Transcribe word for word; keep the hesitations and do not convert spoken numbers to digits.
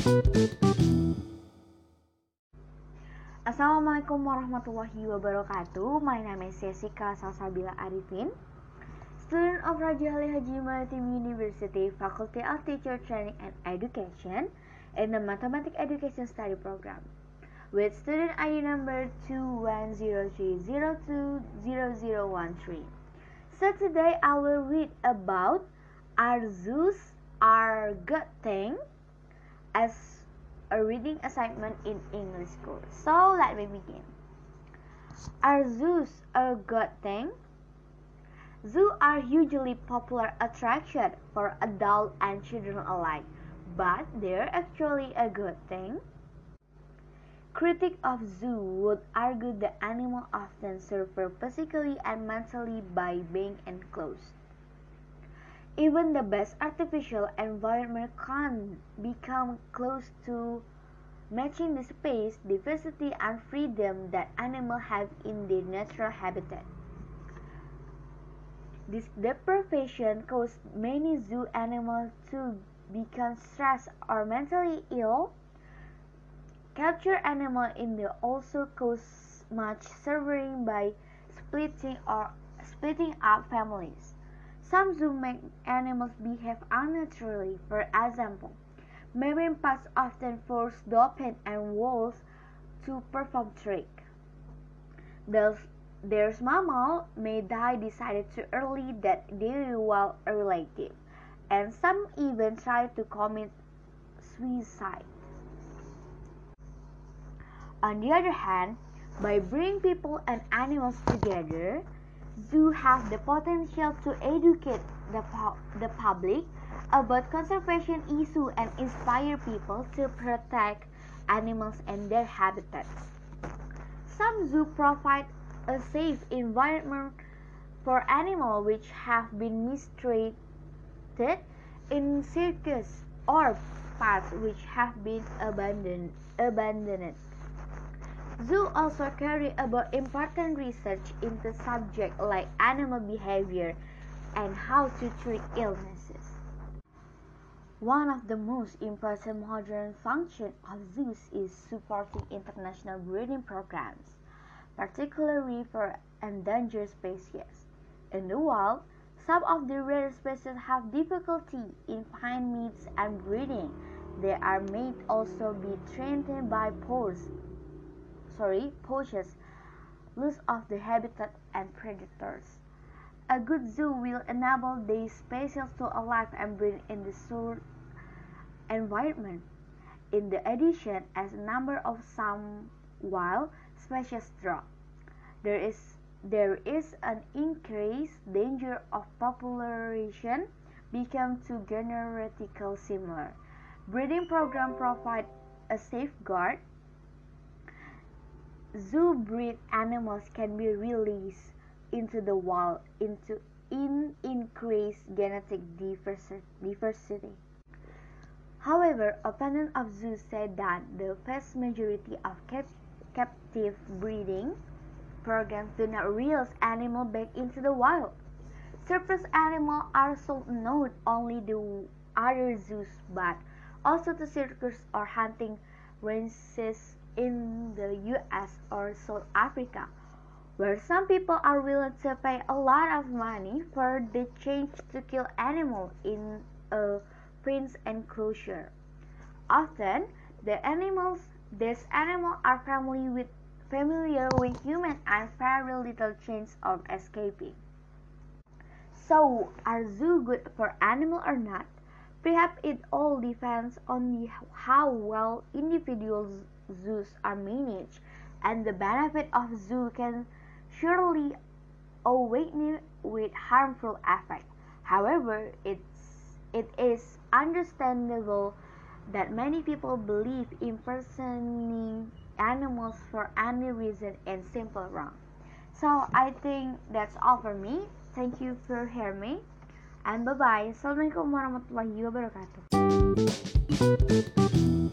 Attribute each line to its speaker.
Speaker 1: Assalamualaikum warahmatullahi wabarakatuh. My name is Jessica Salsabila Arifin, student of Raja Ali Haji Maritim University, Faculty of Teacher Training and Education in the Mathematics Education Study Program, with student I D number two one zero three zero two zero zero one three. So today I will read about Are zoos are good thing as a reading assignment in English school. So let me begin. Are zoos a good thing? Zoos are hugely popular attraction for adults and children alike, but they're actually a good thing. Critics of zoo would argue the animals often suffer physically and mentally by being enclosed. Even the best artificial environment can't become close to matching the space, diversity, and freedom that animals have in their natural habitat. This deprivation caused many zoo animals to become stressed or mentally ill. Captured animals in the also cause much suffering by splitting or splitting up families. Some zoos make animals behave unnaturally. For example, marine parks often force dolphins and whales to perform tricks. Their mammals may die decided too early that they will a relative, and some even try to commit suicide. On the other hand, by bringing people and animals together, zoos have the potential to educate the, pu- the public about conservation issues and inspire people to protect animals and their habitats. Some zoos provide a safe environment for animals which have been mistreated in circus or parks which have been abandoned. abandoned. Zoos also carry about important research into subjects like animal behavior and how to treat illnesses. One of the most important modern functions of zoos is supporting international breeding programs, particularly for endangered species. In the wild, some of the rare species have difficulty in finding mates and breeding. They are may also be threatened by poachers. Sorry, poachers, loss of the habitat, and predators. A good zoo will enable these species to alive and breed in the zoo environment. In the addition, as a number of some wild species drop, there is there is an increased danger of population become too genetically similar. Breeding programs provide a safeguard. Zoo bred animals can be released into the wild into in increased genetic diversity. However, opponents of zoos say that the vast majority of cap- captive breeding programs do not release animals back into the wild. Surplus animals are sold not only to other zoos but also to circus or hunting ranches in the U S or South Africa, where some people are willing to pay a lot of money for the chance to kill animals in a fenced enclosure. Often, the animals, these animals are familiar with, familiar with humans and very little chance of escaping. So, are zoos good for animals or not? Perhaps it all depends on the, how well individual zoos are managed, and the benefit of zoo can surely outweigh with harmful effects. However, it's, it is understandable that many people believe impersonating animals for any reason is simply wrong. So I think that's all for me. Thank you for hearing me. And bye bye. Assalamualaikum warahmatullahi wabarakatuh.